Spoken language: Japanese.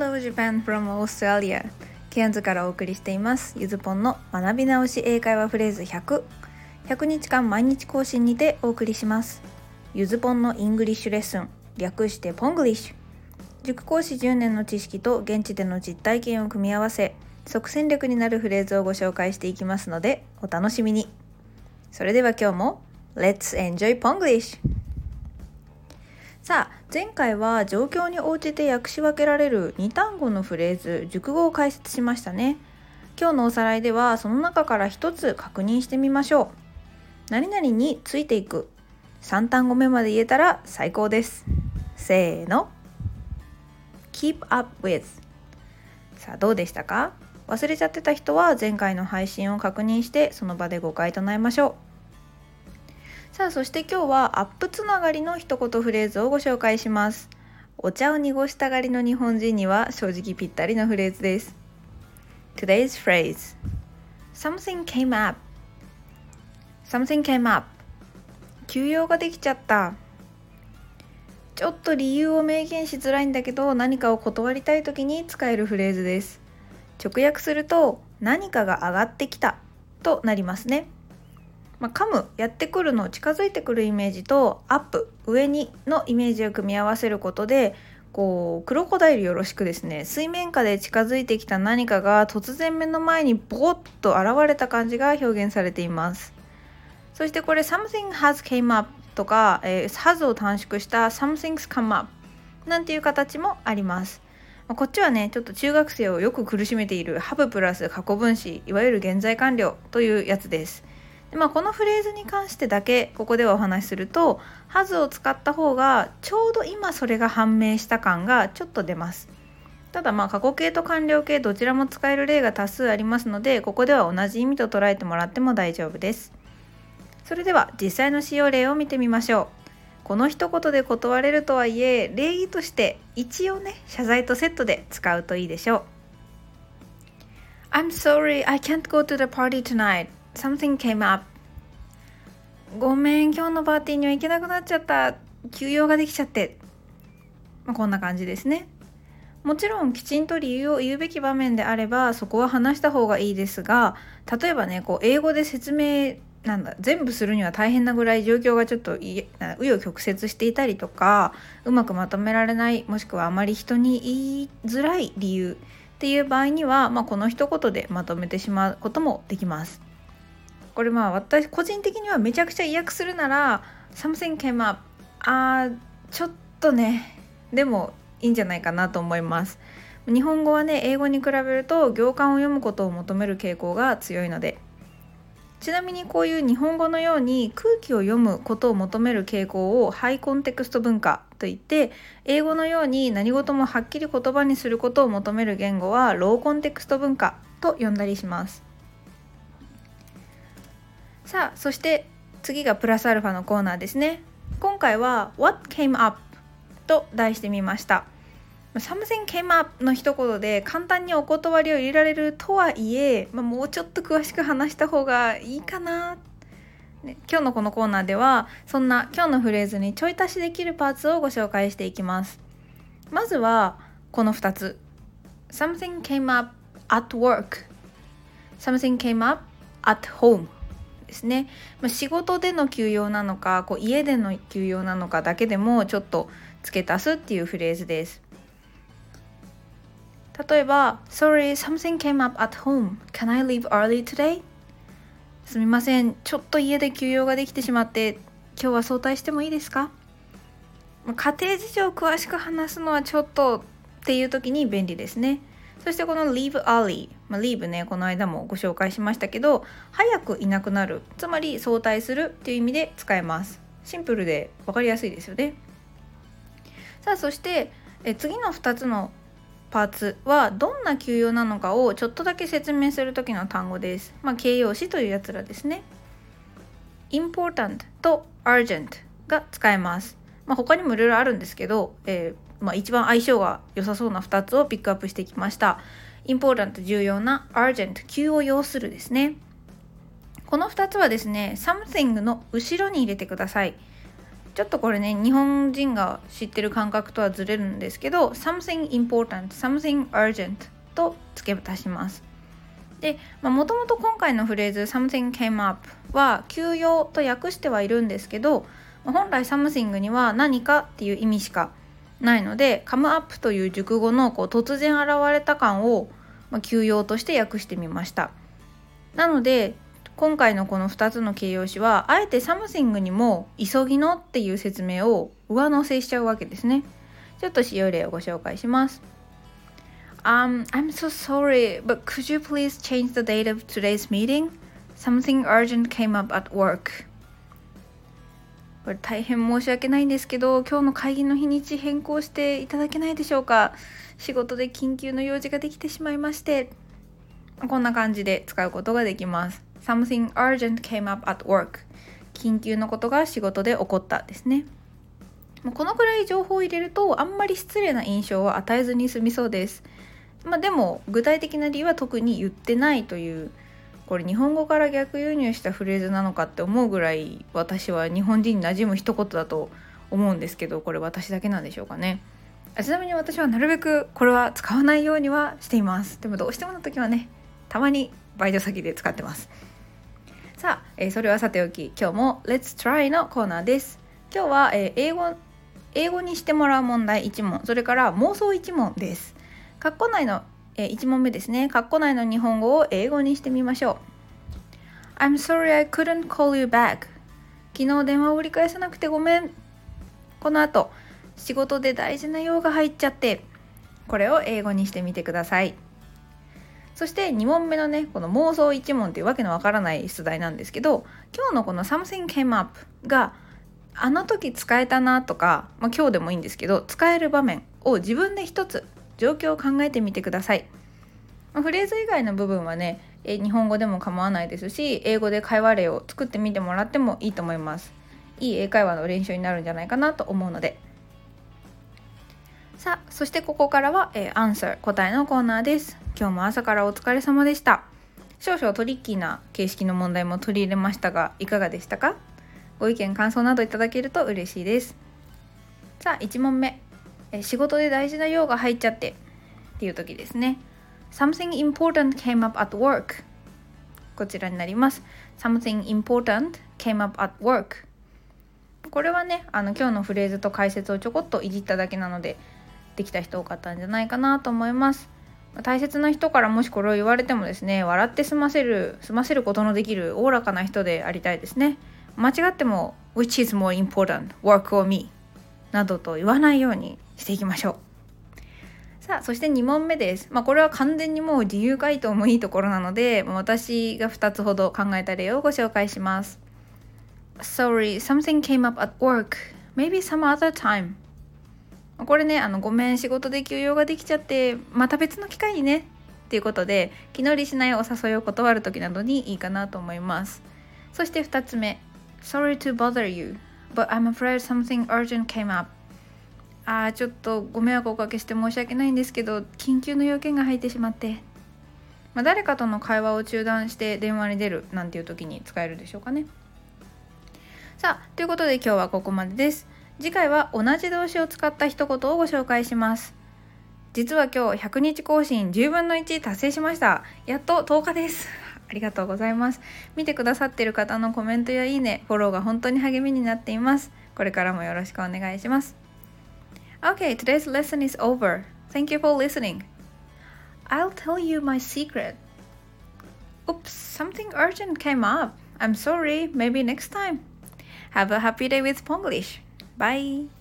Hello Japan from Australia ケアンズからお送りしていますゆずぽんの学び直し英会話フレーズ100日間毎日更新にてお送りします。ゆずぽんのイングリッシュレッスン、略してポングリッシュ。塾講師10年の知識と現地での実体験を組み合わせ即戦力になるフレーズをご紹介していきますのでお楽しみに。それでは今日も Let's enjoy Ponglish。さあ、前回は状況に応じて訳し分けられる2単語のフレーズ、熟語を解説しましたね。今日のおさらいではその中から一つ確認してみましょう。何々についていく。3単語目まで言えたら最高です。せーの。Keep up with。さあ、どうでしたか？忘れちゃってた人は前回の配信を確認してその場で誤解唱えましょう。さあ、そして今日はアップつながりの一言フレーズをご紹介します。お茶を濁したがりの日本人には正直ぴったりのフレーズです。Today's phrase: Something came up. Something came up. 急用ができちゃった。ちょっと理由を明言しづらいんだけど何かを断りたい時に使えるフレーズです。直訳すると何かが上がってきたとなりますね。カム、やってくるの近づいてくるイメージとアップ、上にのイメージを組み合わせることでクロコダイルよろしくですね、水面下で近づいてきた何かが突然目の前にボコッと現れた感じが表現されています。そしてこれ something has came up とか、has を短縮した something's come up なんていう形もあります。こっちはね、ちょっと中学生をよく苦しめている have プラス過去分詞、いわゆる現在完了というやつです。で、このフレーズに関してだけここではお話しすると has を使った方がちょうど今それが判明した感がちょっと出ます。ただ過去形と完了形どちらも使える例が多数ありますので、ここでは同じ意味と捉えてもらっても大丈夫です。それでは実際の使用例を見てみましょう。この一言で断れるとはいえ、礼儀として一応ね、謝罪とセットで使うといいでしょう。I'm sorry, I can't go to the party tonight.Something came up. ごめん、今日のパーティーには行けなくなっちゃった。急用ができちゃって。こんな感じですね。もちろんきちんと理由を言うべき場面であればそこは話した方がいいですが、例えばね、英語で説明全部するには大変なぐらい状況がちょっと紆余曲折していたりとか、うまくまとめられない、もしくはあまり人に言いづらい理由っていう場合には、この一言でまとめてしまうこともできます。これ私個人的にはめちゃくちゃ意訳するなら Something came up、 ちょっとね、でもいいんじゃないかなと思います。日本語はね、英語に比べると行間を読むことを求める傾向が強いので。ちなみにこういう日本語のように空気を読むことを求める傾向をハイコンテクスト文化といって、英語のように何事もはっきり言葉にすることを求める言語はローコンテクスト文化と呼んだりします。さあ、そして次がプラスアルファのコーナーですね。今回は What came up と題してみました。Something came up の一言で簡単にお断りを入れられるとはいえ、もうちょっと詳しく話した方がいいかな、今日のこのコーナーではそんな今日のフレーズにちょい足しできるパーツをご紹介していきます。まずはこの2つ。 Something came up at work、 Something came up at homeですね。仕事での休養なのか家での休養なのかだけでもちょっと付け足すっていうフレーズです。例えば Sorry, something came up at home. Can I leave early today? すみません、ちょっと家で休養ができてしまって今日は早退してもいいですか？家庭事情を詳しく話すのはちょっとっていう時に便利ですね。そしてこの leave early、leave ね、この間もご紹介しましたけど、早くいなくなる、つまり早退するっていう意味で使えます。シンプルで分かりやすいですよね。さあ、そして次の2つのパーツはどんな休養なのかをちょっとだけ説明する時の単語です。形容詞というやつらですね。important と urgent が使えます。他にもいろいろあるんですけど、一番相性が良さそうな2つをピックアップしてきました。important 重要な、 urgent 急を要するですね。この2つはですね、something の後ろに入れてください。 ちょっとこれね、日本人が知ってる感覚とはずれるんですけど、something important, something urgent と付け足します。で、もともと今回のフレーズ something came up は急用と訳してはいるんですけど、本来 something には何かっていう意味しかないので、come up という熟語の突然現れた感を、急用として訳してみました。なので今回のこの2つの形容詞はあえて something にも急ぎのっていう説明を上乗せしちゃうわけですね。ちょっと使用例をご紹介します。I'm so sorry, but could you please change the date of today's meeting? Something urgent came up at work. これ大変申し訳ないんですけど、今日の会議の日にち変更していただけないでしょうか。仕事で緊急の用事ができてしまいまして。こんな感じで使うことができます。Something urgent came up at work. 緊急のことが仕事で起こったですね。このくらい情報を入れるとあんまり失礼な印象は与えずに済みそうです。でも具体的な理由は特に言ってないという、これ日本語から逆輸入したフレーズなのかって思うぐらい私は日本人に馴染む一言だと思うんですけど、これ私だけなんでしょうかね。ちなみに私はなるべくこれは使わないようにはしています。でもどうしてもの時はね、たまにバイト先で使ってます。さあ、それはさておき、今日も Let's Try のコーナーです。今日は、英語にしてもらう問題1問、それから妄想1問です。括弧内の、1問目ですね。括弧内の日本語を英語にしてみましょう。I'm sorry I couldn't call you back. 昨日電話を折り返さなくてごめん。この後、仕事で大事な用が入っちゃって、これを英語にしてみてください。そして2問目のね、この妄想1問っていうわけのわからない出題なんですけど、今日のこの something came up があの時使えたなとか、今日でもいいんですけど、使える場面を自分で一つ状況を考えてみてください。フレーズ以外の部分はね、日本語でも構わないですし、英語で会話例を作ってみてもらってもいいと思います。いい英会話の練習になるんじゃないかなと思うので。さあ、そしてここからは、Answer 答えのコーナーです。今日も朝からお疲れ様でした。少々トリッキーな形式の問題も取り入れましたが、いかがでしたか？ご意見感想などいただけると嬉しいです。さあ、1問目、仕事で大事な用が入っちゃってっていう時ですね。Something important came up at work. こちらになります。Something important came up at work. これはね、今日のフレーズと解説をちょこっといじっただけなので、できた人多かったんじゃないかなと思います。大切な人からもしこれを言われてもですね、笑って済ませることのできるおおらかな人でありたいですね。間違っても Which is more important, work or me? などと言わないようにしていきましょう。さあ、そして2問目です。これは完全にもう自由回答もいいところなので、私が2つほど考えた例をご紹介します。Sorry, something came up at work. Maybe some other time. これね、ごめん、仕事で休養ができちゃって、また別の機会にねっていうことで、気乗りしないお誘いを断るときなどにいいかなと思います。そして2つ目、Sorry to bother you, but I'm afraid something urgent came up. ちょっとご迷惑をおかけして申し訳ないんですけど、緊急の要件が入ってしまって。誰かとの会話を中断して電話に出るなんていう時に使えるでしょうかね。さあ、ということで今日はここまでです。次回は同じ動詞を使った一言をご紹介します。実は今日100日更新10分の1達成しました。やっと10日です。ありがとうございます。見てくださっている方のコメントやいいね、フォローが本当に励みになっています。これからもよろしくお願いします。Okay, today's lesson is over. Thank you for listening. I'll tell you my secret. Oops, something urgent came up. I'm sorry, maybe next time. Have a happy day with Ponglish. Bye.